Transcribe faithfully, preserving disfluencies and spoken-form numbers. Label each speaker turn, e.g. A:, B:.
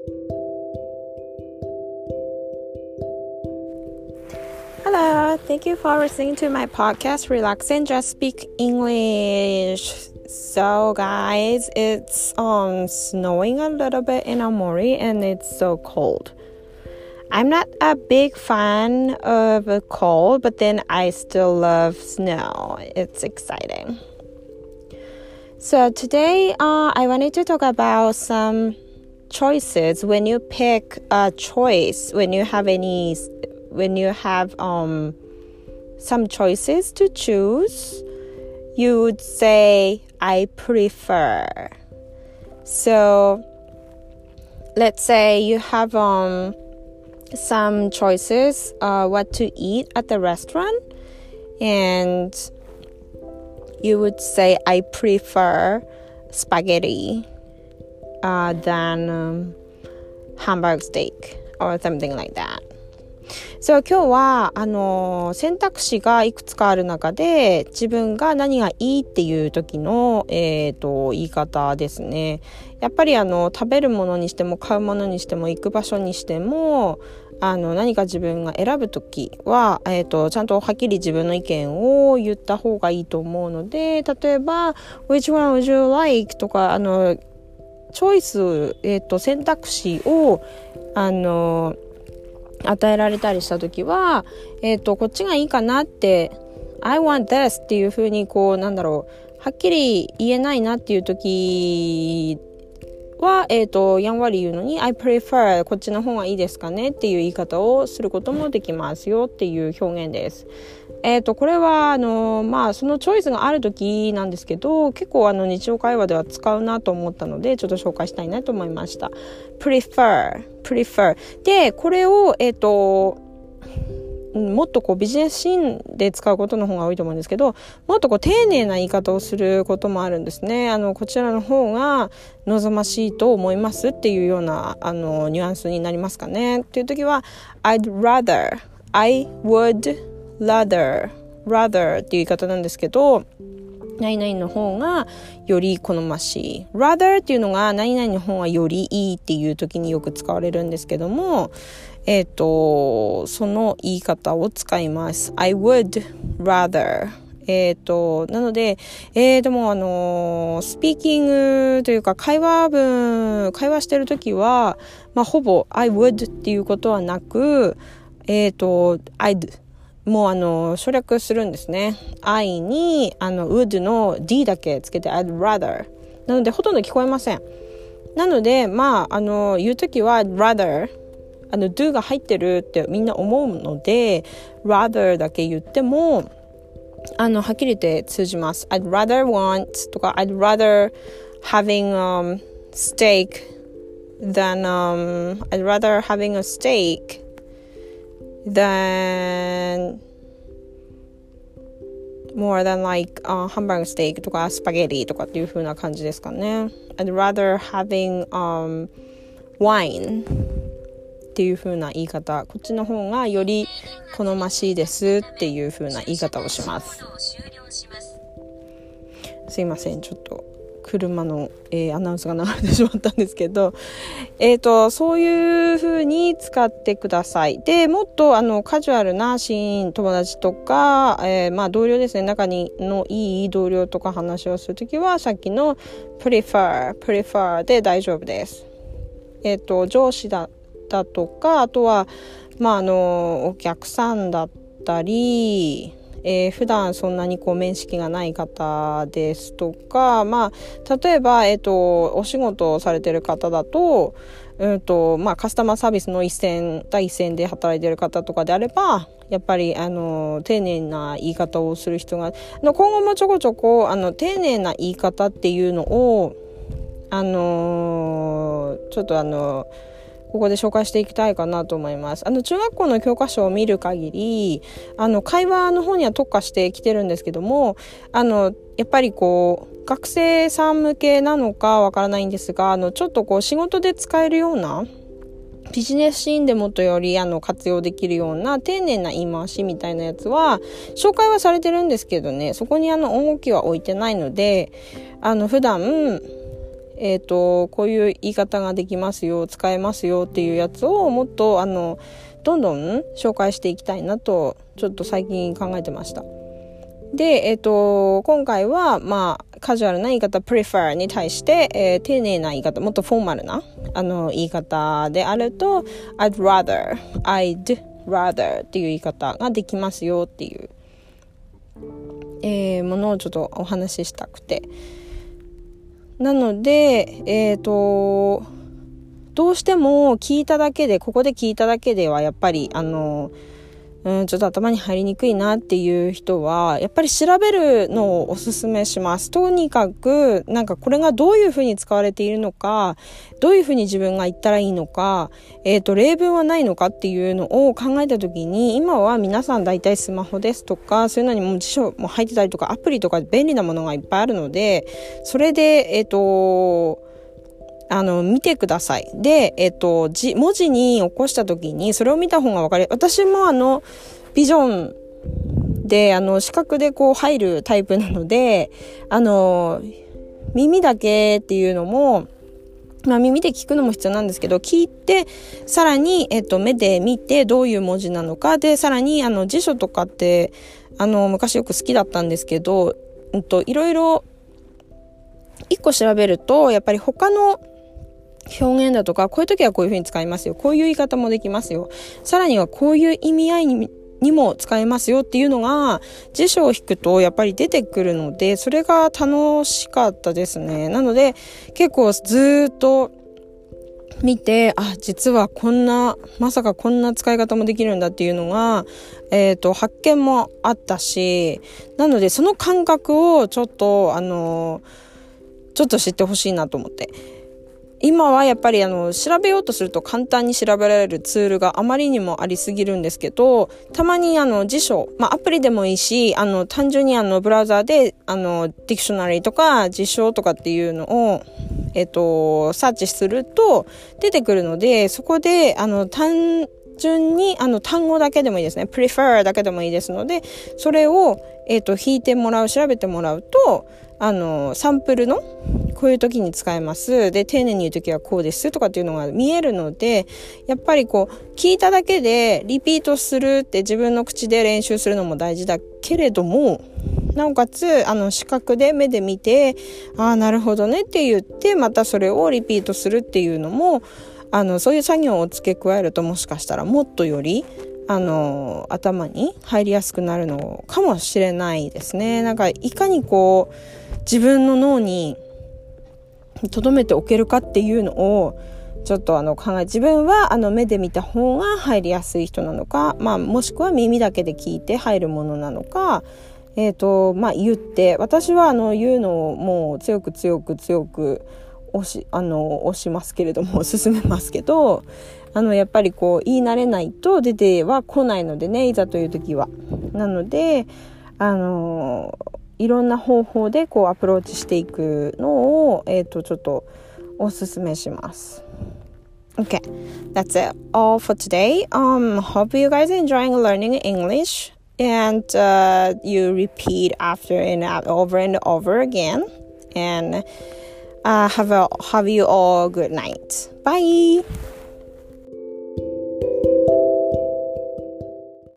A: Hello, thank you for listening to my podcast, Relax and Just Speak English. So guys, it's um snowing a little bit in Aomori and it's so cold. I'm not a big fan of a cold, but then I still love snow. It's exciting. So today uh, I wanted to talk about some choices when you pick a choice, when you have any when you have um some choices to choose, you would say I prefer. So let's say you have um some choices uh what to eat at the restaurant, and you would say I prefer spaghetti uh than um, hamburger steak or something like that. So 今日はあの選択肢がいくつかある中で自分が何がいいっていう時の、えーと、言い方ですね。やっぱりあの食べるものにしても買うものにしても行く場所にしてもあの何か自分が選ぶ時は、えーと、ちゃんとはっきり自分の意見を言った方がいいと思うので、例えば Which one would you like? とかあのチョイス、えーと、選択肢をあの与えられたりしたときは、えっと、こっちがいいかなって、I want this っていう風にこう、なんだろう、はっきり言えないなっていうときは、えっと、やんわり言うのに、I prefer こっちの方がいいですかねっていう言い方をすることもできますよっていう表現です。えっと、これは、あの、まあ、そのチョイスがあるときなんですけど、結構あの、日常会話では使うなと思ったので、ちょっと紹介したいなと思いました。prefer, prefer. で、これを、えっと、もっとこうビジネスシーンで使うことの方が多いと思うんですけど、もっとこう丁寧な言い方をすることもあるんですね。あの、こちらの方が望ましいと思いますっていうような、あの、ニュアンスになりますかね。っていう時は、I'd rather, I would rather, rather っていう言い方なんですけど、何々の方がより好ましい。rather っていうのが何々の方がよりいいっていう時によく使われるんですけども、えっと、その言い方を使います。I would rather。えっと、なので、えー、でもあの、スピーキングというか会話文、会話してる時は、まあ、ほぼ I would っていうことはなく、えっと、I'd。もうあの省略するんですね。I にあの would の D だけつけて I'd rather なのでほとんど聞こえません。なのでまああの言うときは I'd rather あの do が入ってるってみんな思うので rather だけ言ってもあのはっきり言って通じます。I'd rather want とか I'd rather having um, steak than um, I'd rather having a steak than more than like、uh, hamburger steak とかスパゲティとかっていう風な感じですかね。I'd rather having、um, wine っていう風な言い方、こっちの方がより好ましいですっていう風な言い方をします。すいません、ちょっと車の、えー、アナウンスが流れてしまったんですけど、えーと、そういう風に使ってください。で、もっとあのカジュアルなシーン、友達とか、えー、まあ同僚ですね、仲にのいい同僚とか話をするときは、さっきの prefer、prefer で大丈夫です。えーと、上司だったとか、あとは、まああの、お客さんだったり、えー、普段そんなにこう面識がない方ですとか、まあ、例えば、えっと、お仕事をされてる方だと、うんと、まあ、カスタマーサービスの一線、第一線で働いてる方とかであれば、やっぱり、あの、丁寧な言い方をする人が、あの今後もちょこちょこ、あの、丁寧な言い方っていうのを、あの、ちょっとあの、ここで紹介していきたいかなと思います。あの中学校の教科書を見る限り、あの会話の方には特化してきてるんですけども、あのやっぱりこう学生さん向けなのかわからないんですが、あのちょっとこう仕事で使えるようなビジネスシーンでもっとよりあの活用できるような丁寧な言い回しみたいなやつは紹介はされてるんですけどね、そこにあの重きは置いてないので、あの普段えっと、こういう言い方ができますよ、使えますよっていうやつをもっと、あの、どんどん紹介していきたいなと、ちょっと最近考えてました。で、えっと、今回は、まあ、カジュアルな言い方、prefer に対して、えー、丁寧な言い方、もっとフォーマルな、あの、言い方であると、I'd rather, I'd rather っていう言い方ができますよっていう、えー、ものをちょっとお話ししたくて。なので、えっと、どうしても聞いただけで、ここで聞いただけではやっぱり、あの、うん、ちょっと頭に入りにくいなっていう人はやっぱり調べるのをおすすめします。とにかくなんかこれがどういうふうに使われているのか、どういうふうに自分が言ったらいいのか、えっと例文はないのかっていうのを考えた時に、今は皆さん大体スマホですとかそういうのにも辞書も入ってたりとかアプリとか便利なものがいっぱいあるので、それでえっとあの、見てください。で、えっと、字、文字に起こしたときに、それを見た方がわかる。私もあの、ビジョンで、あの、視覚でこう入るタイプなので、あの、耳だけっていうのも、まあ耳で聞くのも必要なんですけど、聞いて、さらに、えっと、目で見てどういう文字なのか、で、さらに、あの、辞書とかって、あの、昔よく好きだったんですけど、うんと、いろいろ、一個調べると、やっぱり他の表現だとか、こういう時はこういう風に使いますよ。こういう言い方もできますよ。さらにはこういう意味合いに、にも使えますよっていうのが辞書を引くとやっぱり出てくるので、それが楽しかったですね。なので結構ずっと見て、あ、実はこんな、まさかこんな使い方もできるんだっていうのが、えっと、発見もあったし、なのでその感覚をちょっと、あの、ちょっと知ってほしいなと思って。今はやっぱりあの調べようとすると簡単に調べられるツールがあまりにもありすぎるんですけど、たまにあの辞書、まあアプリでもいいし、あの単純にあのブラウザーであのディクショナリーとか辞書とかっていうのをえっとサーチすると出てくるので、そこであの単純にあの単語だけでもいいですね。prefer だけでもいいですので、それをえっと引いてもらう、調べてもらうと、あのサンプルのこういう時に使えます。で、丁寧に言う時はこうですとかっていうのが見えるので、やっぱりこう聞いただけでリピートするって自分の口で練習するのも大事だけれども、なおかつあの視覚で目で見て、ああなるほどねって言ってまたそれをリピートするっていうのも、あのそういう作業を付け加えると、もしかしたらもっとよりあの頭に入りやすくなるのかもしれないですね。なんかいかにこう自分の脳に留めておけるかっていうのをちょっとあの考え、自分はあの目で見た方が入りやすい人なのか、まあもしくは耳だけで聞いて入るものなのか、えっとまあ言って、私はあの言うのをもう強く強く強く押しあの押しますけれども、進めますけど、あのやっぱりこう言い慣れないと出ては来ないのでね、いざという時は。なのであのいろんな方法でこうアプローチしていくのを、えっとちょっとおすすめします。Okay, that's it all for today. Um, hope you guys are enjoying learning English, and uh, you repeat after and over and over again. And uh, have a have you all good night. Bye.